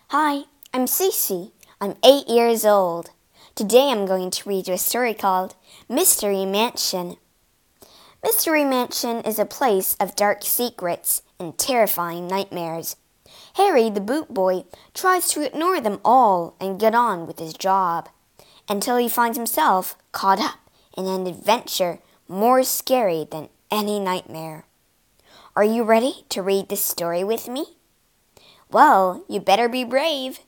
Hi, I'm Cece. I'm 8 years old. Today I'm going to read you a story called Mystery Mansion. Mystery Mansion is a place of dark secrets and terrifying nightmares. Harry, the boot boy, tries to ignore them all and get on with his job, until he finds himself caught up in an adventure more scary than any nightmare. Are you ready to read this story with me? Well, you better be brave.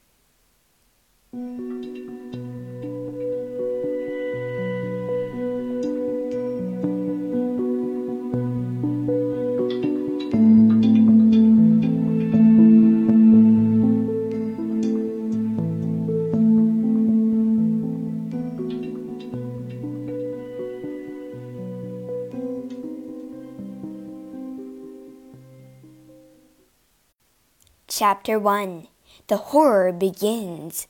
Chapter 1. The Horror Begins.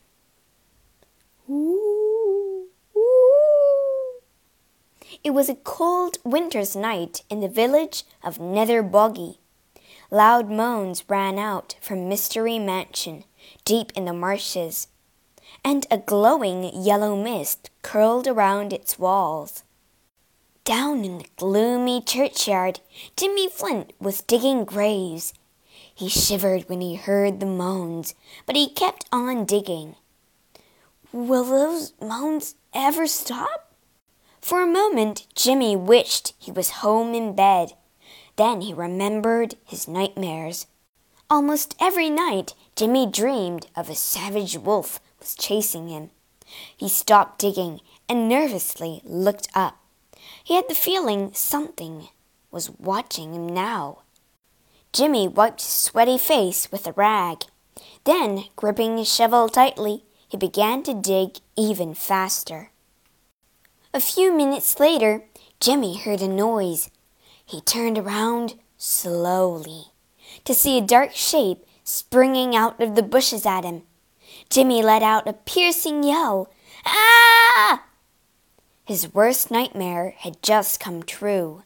Ooh, ooh. It was a cold winter's night in the village of Nether Boggy. Loud moans ran out from Mystery Mansion, deep in the marshes, and a glowing yellow mist curled around its walls. Down in the gloomy churchyard, Jimmy Flint was digging graves. He shivered when he heard the moans, but he kept on digging. Will those moans ever stop? For a moment, Jimmy wished he was home in bed. Then he remembered his nightmares. Almost every night, Jimmy dreamed of a savage wolf was chasing him. He stopped digging and nervously looked up. He had the feeling something was watching him now. Jimmy wiped his sweaty face with a rag. Then, gripping his shovel tightly, he began to dig even faster. A few minutes later, Jimmy heard a noise. He turned around slowly to see a dark shape springing out of the bushes at him. Jimmy let out a piercing yell. Ah! His worst nightmare had just come true.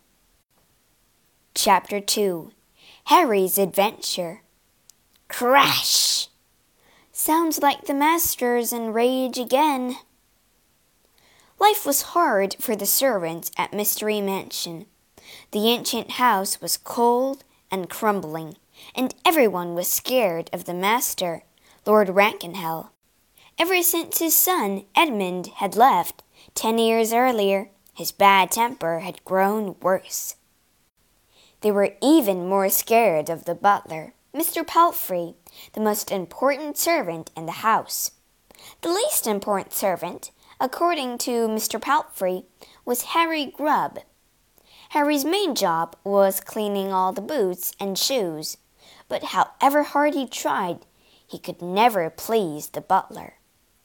Chapter 2. Harry's Adventure. Crash! Sounds like the master's in rage again. Life was hard for the servants at Mystery Mansion. The ancient house was cold and crumbling, and everyone was scared of the master, Lord Rankenhell. Ever since his son Edmund had left 10 years earlier, his bad temper had grown worse. They were even more scared of the butler, Mr. Palfrey, the most important servant in the house. The least important servant, according to Mr. Palfrey, was Harry Grubb. Harry's main job was cleaning all the boots and shoes, but however hard he tried, he could never please the butler.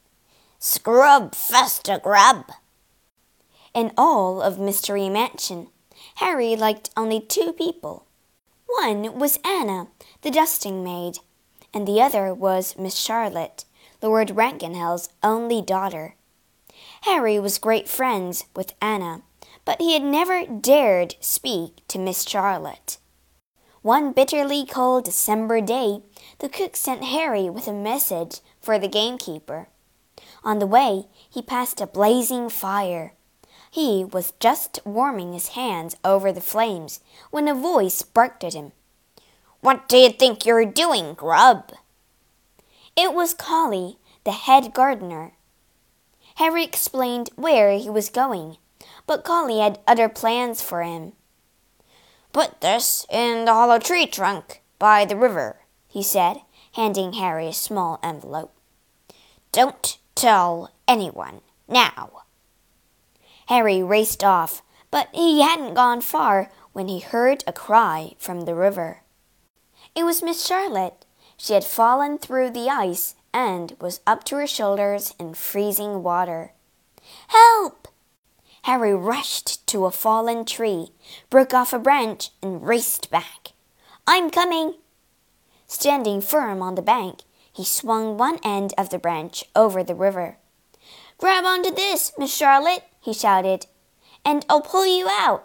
Scrub faster, Grubb! In all of Mystery Mansion, Harry liked only 2 people. One was Anna, the dusting maid, and the other was Miss Charlotte, Lord Rankenhell's only daughter. Harry was great friends with Anna, but he had never dared speak to Miss Charlotte. One bitterly cold December day, the cook sent Harry with a message for the gamekeeper. On the way, he passed a blazing fire. He was just warming his hands over the flames when a voice barked at him. What do you think you're doing, Grubb? It was Collie, the head gardener. Harry explained where he was going, but Collie had other plans for him. Put this in the hollow tree trunk by the river, he said, handing Harry a small envelope. Don't tell anyone now. Harry raced off, but he hadn't gone far when he heard a cry from the river. It was Miss Charlotte. She had fallen through the ice and was up to her shoulders in freezing water. Help! Harry rushed to a fallen tree, broke off a branch, and raced back. I'm coming! Standing firm on the bank, he swung one end of the branch over the river. Grab onto this, Miss Charlotte, he shouted, and I'll pull you out.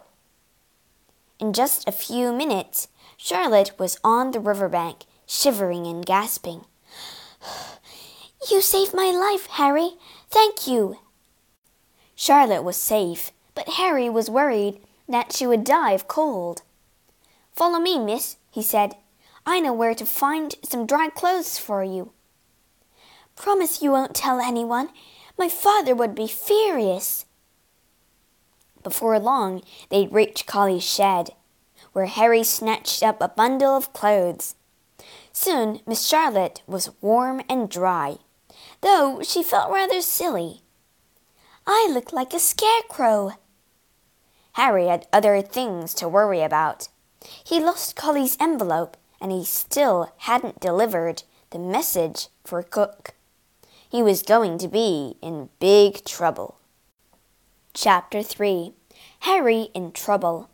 In just a few minutes, Charlotte was on the riverbank, shivering and gasping. You saved my life, Harry. Thank you. Charlotte was safe, but Harry was worried that she would die of cold. Follow me, miss, he said. I know where to find some dry clothes for you. Promise you won't tell anyone. My father would be furious. Before long, they'd reached Collie's shed, where Harry snatched up a bundle of clothes. Soon Miss Charlotte was warm and dry, though she felt rather silly. I look like a scarecrow. Harry had other things to worry about. He lost Collie's envelope, and he still hadn't delivered the message for Cook. He was going to be in big trouble. Chapter 3. Harry in Trouble.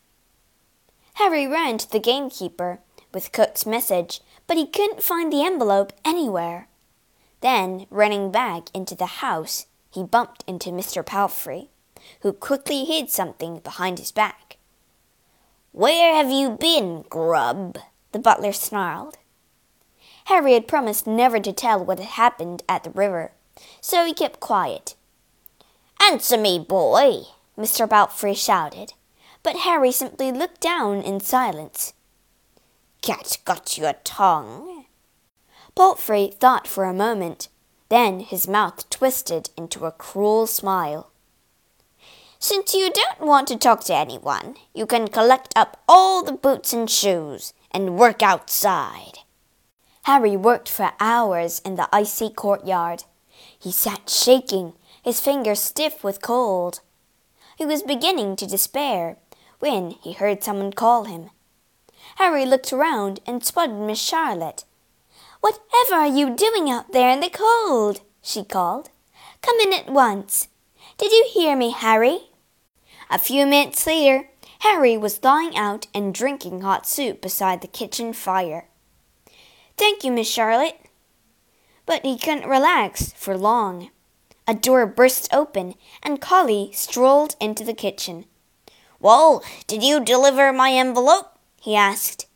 Harry ran to the gamekeeper with Cook's message, but he couldn't find the envelope anywhere. Then, running back into the house, he bumped into Mr. Palfrey, who quickly hid something behind his back. "Where have you been, grub?" the butler snarled. Harry had promised never to tell what had happened at the river, so he kept quiet. "Answer me, boy," Mr. Palfrey shouted, but Harry simply looked down in silence. "Cat got your tongue?" Palfrey thought for a moment. Then his mouth twisted into a cruel smile. "Since you don't want to talk to anyone, you can collect up all the boots and shoes and work outside." Harry worked for hours in the icy courtyard. He sat shaking, his fingers stiff with cold. He was beginning to despair when he heard someone call him. Harry looked around and spotted Miss Charlotte. "Whatever are you doing out there in the cold?" she called. "Come in at once. Did you hear me, Harry?" A few minutes later, Harry was thawing out and drinking hot soup beside the kitchen fire. "Thank you, Miss Charlotte." But he couldn't relax for long. A door burst open, and Collie strolled into the kitchen. "Well, did you deliver my envelope?" he asked.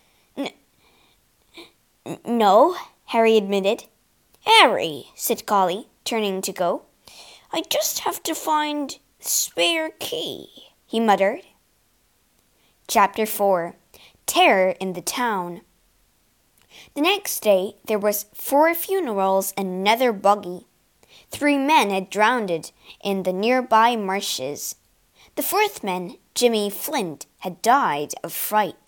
No, Harry admitted. "Harry," said Collie, turning to go, "I just have to find the spare key," he muttered. Chapter 4. Terror in the Town. The next day there was 4 funerals and another bogey. 3 men had drowned in the nearby marshes. The 4th man, Jimmy Flint, had died of fright.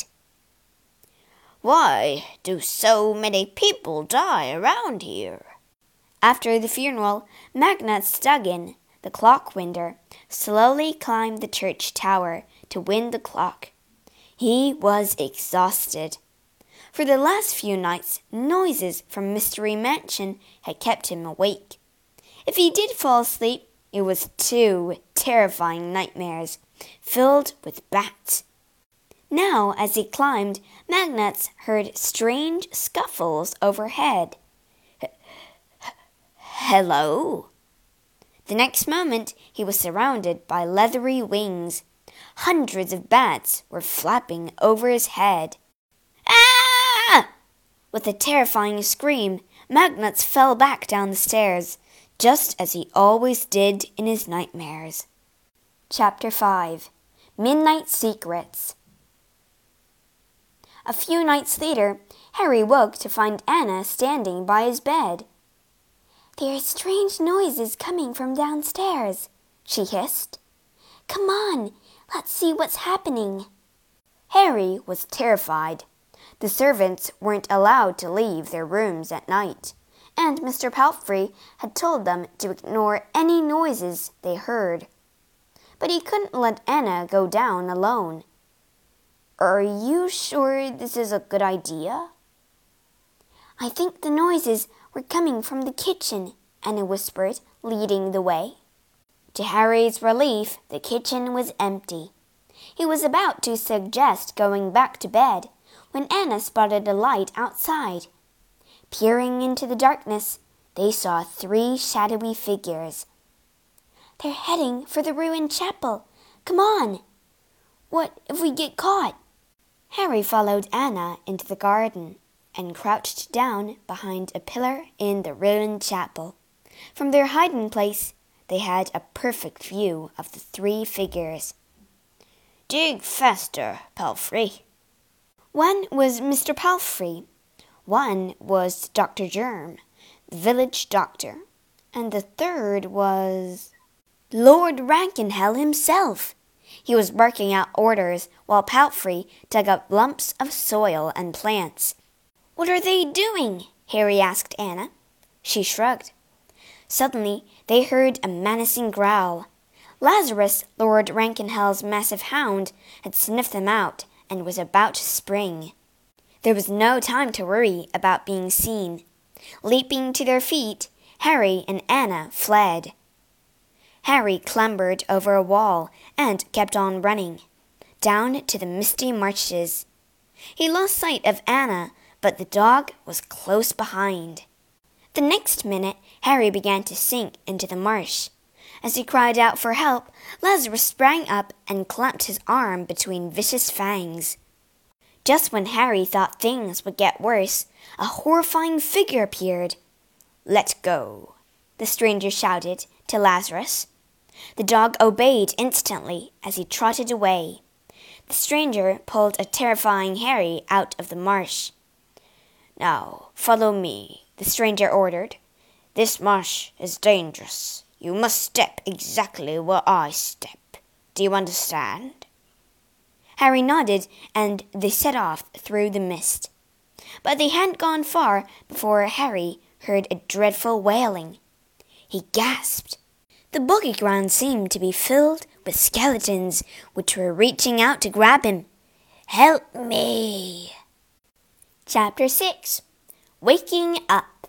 "Why do so many people die around here?" After the funeral, Magnus Stuggin, the clockwinder, slowly climbed the church tower to wind the clock. He was exhausted. For the last few nights, noises from Mystery Mansion had kept him awake. If he did fall asleep, it was 2 terrifying nightmares, filled with bats. Now, as he climbed, Magnus heard strange scuffles overhead. Hello? The next moment, he was surrounded by leathery wings. Hundreds of bats were flapping over his head. Ah! With a terrifying scream, Magnus fell back down the stairs, just as he always did in his nightmares. Chapter 5. Midnight Secrets. A few nights later, Harry woke to find Anna standing by his bed. "There are strange noises coming from downstairs," she hissed. "Come on, let's see what's happening." Harry was terrified. The servants weren't allowed to leave their rooms at night, and Mr. Palfrey had told them to ignore any noises they heard. But he couldn't let Anna go down alone. "Are you sure this is a good idea?" "I think the noises were coming from the kitchen," Anna whispered, leading the way. To Harry's relief, the kitchen was empty. He was about to suggest going back to bed when Anna spotted a light outside. Peering into the darkness, they saw 3 shadowy figures. "They're heading for the ruined chapel. Come on!" "What if we get caught?" Harry followed Anna into the garden. and crouched down behind a pillar in the ruined chapel. From their hiding place, they had a perfect view of the three figures. "Dig faster, Palfrey." One was Mr. Palfrey, one was Dr. Germ, the village doctor, and the third was Lord Rankenhell himself. He was barking out orders while Palfrey dug up lumps of soil and plants. "What are they doing?" Harry asked Anna. She shrugged. Suddenly, they heard a menacing growl. Lazarus, Lord Rankenhell's massive hound, had sniffed them out and was about to spring. There was no time to worry about being seen. Leaping to their feet, Harry and Anna fled. Harry clambered over a wall and kept on running, down to the misty marshes. He lost sight of Anna, but the dog was close behind. The next minute, Harry began to sink into the marsh. As he cried out for help, Lazarus sprang up and clamped his arm between vicious fangs. Just when Harry thought things would get worse, a horrifying figure appeared. "Let go," the stranger shouted to Lazarus. The dog obeyed instantly as he trotted away. The stranger pulled a terrifying Harry out of the marsh. "Now, follow me," the stranger ordered. "This marsh is dangerous. You must step exactly where I step. Do you understand?" Harry nodded, and they set off through the mist. But they hadn't gone far before Harry heard a dreadful wailing. He gasped. The boggy ground seemed to be filled with skeletons which were reaching out to grab him. "Help me!" Chapter 6. Waking Up.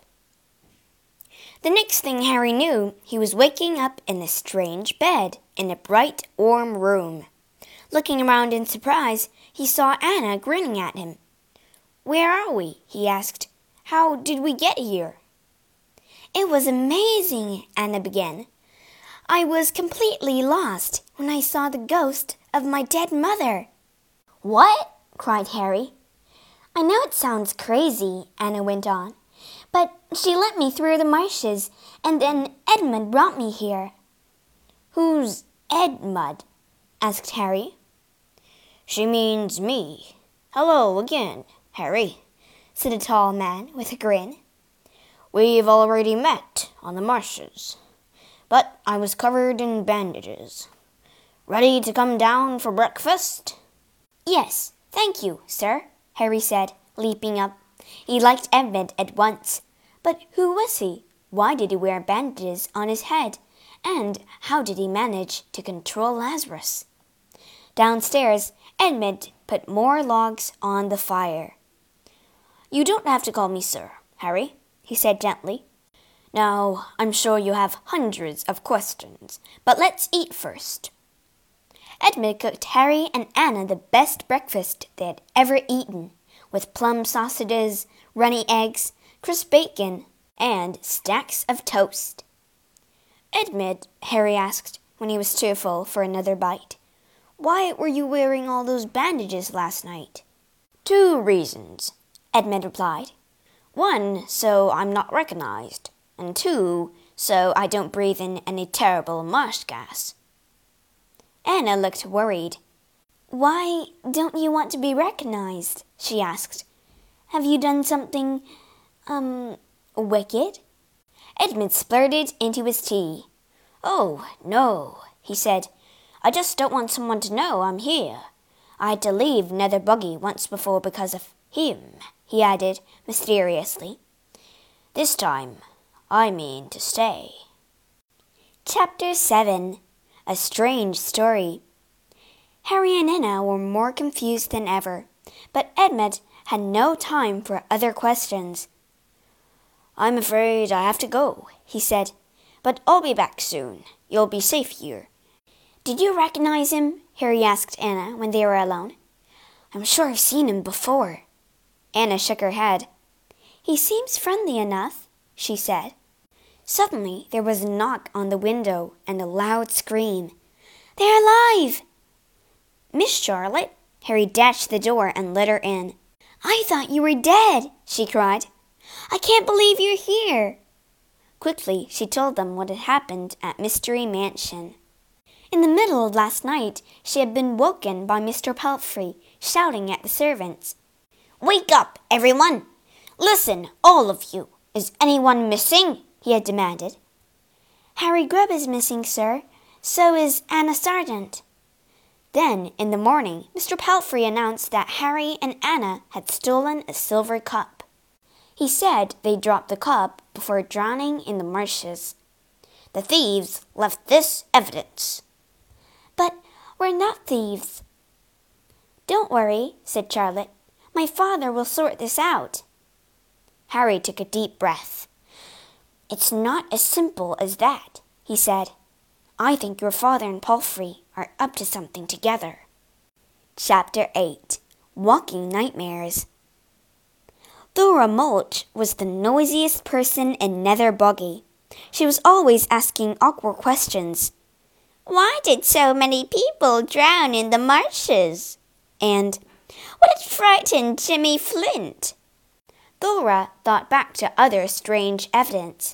The next thing Harry knew, he was waking up in a strange bed in a bright, warm room. Looking around in surprise, he saw Anna grinning at him. "Where are we?" he asked. "How did we get here?" "It was amazing," Anna began. "I was completely lost when I saw the ghost of my dead mother." "What?" cried Harry. "I know it sounds crazy," Anna went on, "but she led me through the marshes, and then Edmund brought me here." "Who's Edmund?" asked Harry. "She means me. Hello again, Harry," said a tall man with a grin. "We've already met on the marshes, but I was covered in bandages. Ready to come down for breakfast?" "Yes, thank you, sir," Harry said, leaping up. He liked Edmund at once. But who was he? Why did he wear bandages on his head? And how did he manage to control Lazarus? Downstairs, Edmund put more logs on the fire. "You don't have to call me sir, Harry," he said gently. "Now, I'm sure you have hundreds of questions, but let's eat first." Edmund cooked Harry and Anna the best breakfast they had ever eaten, with plum sausages, runny eggs, crisp bacon, and stacks of toast. "Edmund," Harry asked when he was too full for another bite, "why were you wearing all those bandages last night?" "2 reasons," Edmund replied. "1, so I'm not recognized, and 2, so I don't breathe in any terrible marsh gas." Anna looked worried. "Why don't you want to be recognized?" she asked. "Have you done something, wicked?" Edmund splurted into his tea. "Oh, no," he said. "I just don't want someone to know I'm here. I had to leave Nether Boggy once before because of him," he added mysteriously. "This time, I mean to stay." Chapter 7. A Strange Story. Harry and Anna were more confused than ever, but Edmund had no time for other questions. "I'm afraid I have to go," he said, "but I'll be back soon. You'll be safe here." "Did you recognize him?" Harry asked Anna when they were alone. "I'm sure I've seen him before." Anna shook her head. "He seems friendly enough," she said. Suddenly there was a knock on the window and a loud scream. "They're alive!" "Miss Charlotte?" Harry dashed the door and let her in. I thought you were dead, she cried. I can't believe you're here. Quickly, she told them what had happened at Mystery Mansion. In the middle of last night, she had been woken by Mr. Palfrey, shouting at the servants. "Wake up, everyone! Listen, all of you! Is anyone missing?" he had demanded. Harry Grubb is missing, sir. So is Anna Sargent. Then, in the morning, Mr. Palfrey announced that Harry and Anna had stolen a silver cup. He said they dropped the cup before drowning in the marshes. The thieves left this evidence. But we're not thieves. Don't worry, said Charlotte. My father will sort this out. Harry took a deep breath. It's not as simple as that, he said. I think your father and Palfrey are up to something together. Chapter 8. Walking Nightmares. Thora Mulch was the noisiest person in Nether Boggy. She was always asking awkward questions. Why did so many people drown in the marshes? And what had frightened Jimmy Flint? Thora thought back to other strange evidence.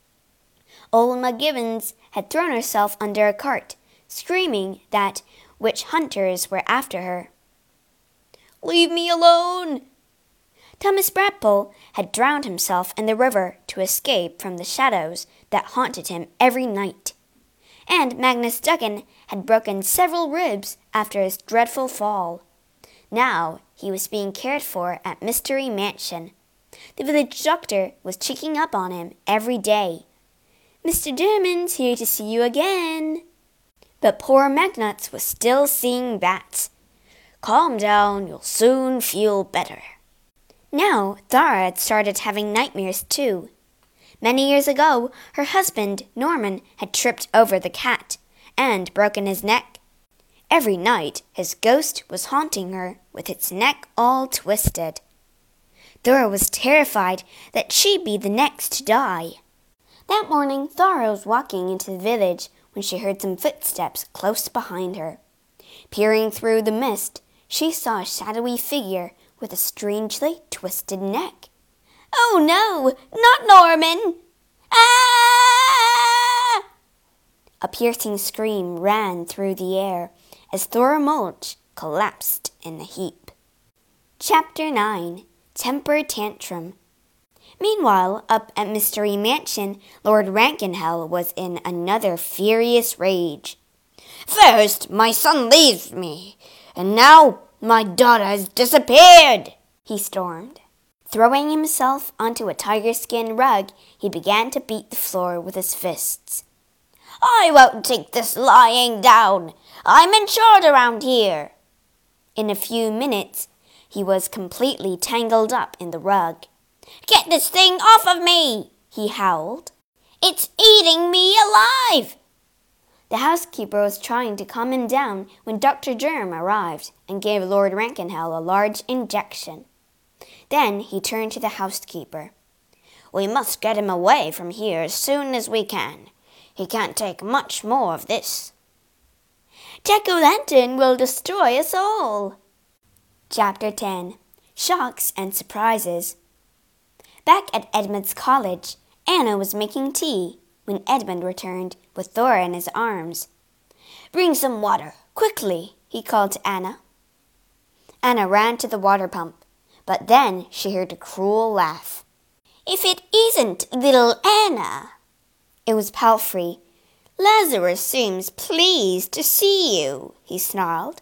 Old McGibbons had thrown herself under a cart, screaming that witch hunters were after her. Leave me alone! Thomas Bradpole had drowned himself in the river to escape from the shadows that haunted him every night. And Magnus Duggan had broken several ribs after his dreadful fall. Now he was being cared for at Mystery Mansion. The village doctor was checking up on him every day. Mr. Dermond's here to see you again. But poor Magnuts was still seeing bats. Calm down, you'll soon feel better. Now Thora had started having nightmares too. Many years ago, her husband, Norman, had tripped over the cat and broken his neck. Every night, his ghost was haunting her with its neck all twisted. Thora was terrified that she'd be the next to die. That morning, Thora was walking into the village when she heard some footsteps close behind her. Peering through the mist, she saw a shadowy figure with a strangely twisted neck. Oh no, not Norman! Ah! A piercing scream ran through the air as Thora Mulch collapsed in a heap. Chapter 9. Temper Tantrum. Meanwhile, up at Mystery Mansion, Lord Rankenhell was in another furious rage. First, my son leaves me, and now my daughter has disappeared, he stormed. Throwing himself onto a tiger-skin rug, he began to beat the floor with his fists. I won't take this lying down. I'm in charge around here. In a few minutes, he was completely tangled up in the rug. Get this thing off of me, he howled. It's eating me alive. The housekeeper was trying to calm him down when Dr. Germ arrived and gave Lord Rankenhell a large injection. Then he turned to the housekeeper. We must get him away from here as soon as we can. He can't take much more of this. Jack-o'-lantern will destroy us all. Chapter 10. Shocks and Surprises. Back at Edmund's college, Anna was making tea when Edmund returned with Thora in his arms. Bring some water, quickly, he called to Anna. Anna ran to the water pump, but then she heard a cruel laugh. If it isn't little Anna. It was Palfrey. Lazarus seems pleased to see you, he snarled.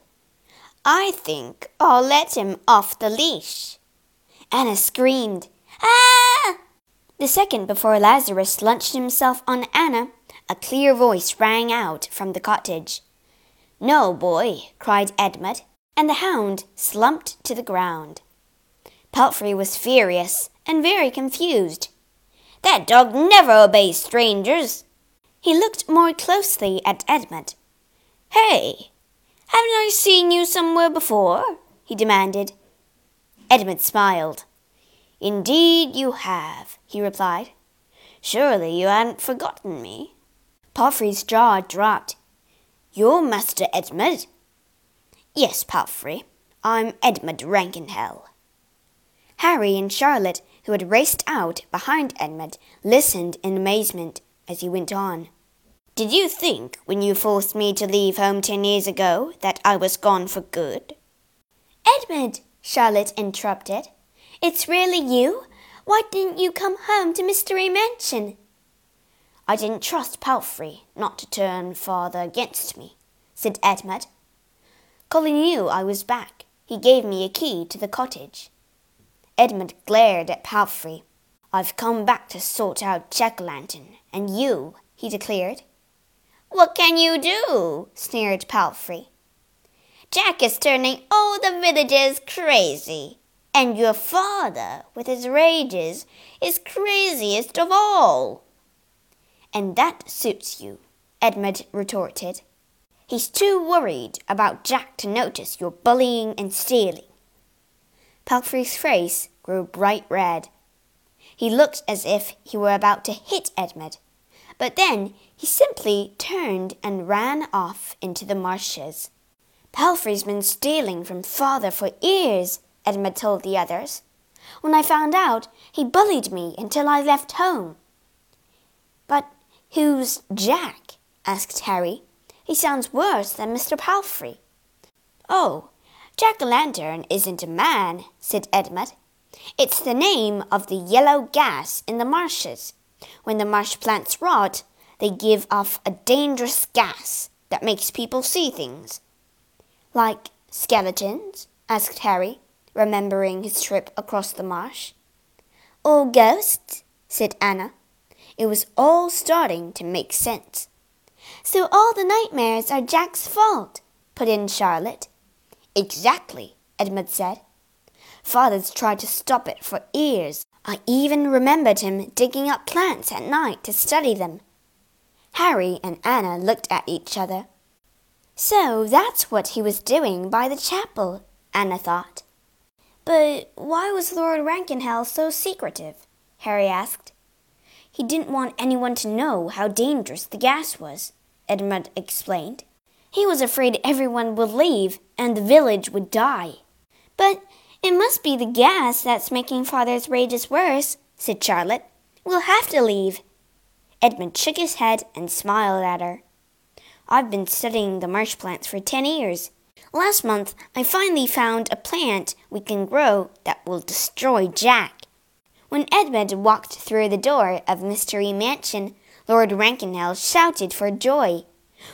I think I'll let him off the leash. Anna screamed. Ah! The second before Lazarus launched himself on Anna, a clear voice rang out from the cottage. No, boy, cried Edmund, and the hound slumped to the ground. Palfrey was furious and very confused. That dog never obeys strangers. He looked more closely at Edmund. Hey, haven't I seen you somewhere before? He demanded. Edmund smiled. Indeed you have, he replied. Surely you hadn't forgotten me. Palfrey's jaw dropped. You're Master Edmund? Yes, Palfrey. I'm Edmund Rankenhell. Harry and Charlotte, who had raced out behind Edmund, listened in amazement as he went on. Did you think, when you forced me to leave home 10 years ago, that I was gone for good? Edmund, Charlotte interrupted. It's really you? Why didn't you come home to Mystery Mansion? I didn't trust Palfrey not to turn father against me, said Edmund. Colin knew I was back. He gave me a key to the cottage. Edmund glared at Palfrey. I've come back to sort out Jack-o'-lantern, and you, he declared. What can you do? Sneered Palfrey. Jack is turning all the villagers crazy, and your father, with his rages, is craziest of all. And that suits you, Edmund retorted. He's too worried about Jack to notice your bullying and stealing. Palfrey's face grew bright red. He looked as if he were about to hit Edmund, but then he simply turned and ran off into the marshes. Palfrey's been stealing from father for years, Edmund told the others. When I found out, he bullied me until I left home. But who's Jack? Asked Harry. He sounds worse than Mr. Palfrey. Oh, Jack-o'-lantern isn't a man, said Edmund. It's the name of the yellow gas in the marshes. When the marsh plants rot, they give off a dangerous gas that makes people see things. Like skeletons? Asked Harry, remembering his trip across the marsh. Or ghosts? Said Anna. It was all starting to make sense. So all the nightmares are Jack's fault, put in Charlotte. Exactly, Edmund said. Father's tried to stop it for years. I even remembered him digging up plants at night to study them. Harry and Anna looked at each other. So that's what he was doing by the chapel, Anna thought. But why was Lord Rankenhell so secretive? Harry asked. He didn't want anyone to know how dangerous the gas was, Edmund explained. He was afraid everyone would leave and the village would die. But it must be the gas that's making Father's rages worse, said Charlotte. We'll have to leave. Edmund shook his head and smiled at her. I've been studying the marsh plants for 10 years. Last month, I finally found a plant we can grow that will destroy Jack. When Edmund walked through the door of Mystery Mansion, Lord Rankenhell shouted for joy.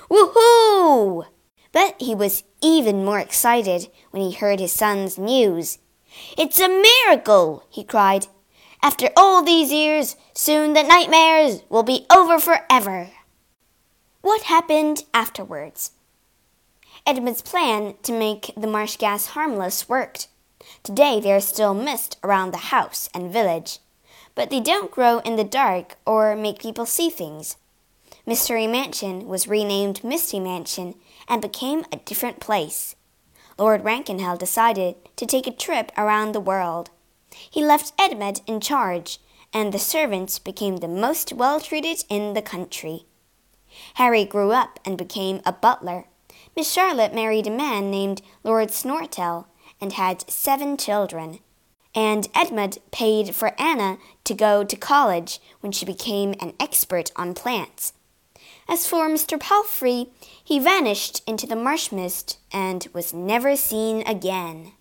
Woohoo! But he was even more excited when he heard his son's news. It's a miracle, he cried. After all these years, soon the nightmares will be over forever. What happened afterwards? Edmund's plan to make the marsh gas harmless worked. Today there is still mist around the house and village, but they don't grow in the dark or make people see things. Mystery Mansion was renamed Misty Mansion and became a different place. Lord Rankenhell decided to take a trip around the world. He left Edmund in charge, and the servants became the most well-treated in the country. Harry grew up and became a butler. Miss Charlotte married a man named Lord Snortell and had 7 children. And Edmund paid for Anna to go to college when she became an expert on plants. As for Mr. Palfrey, he vanished into the marsh mist and was never seen again.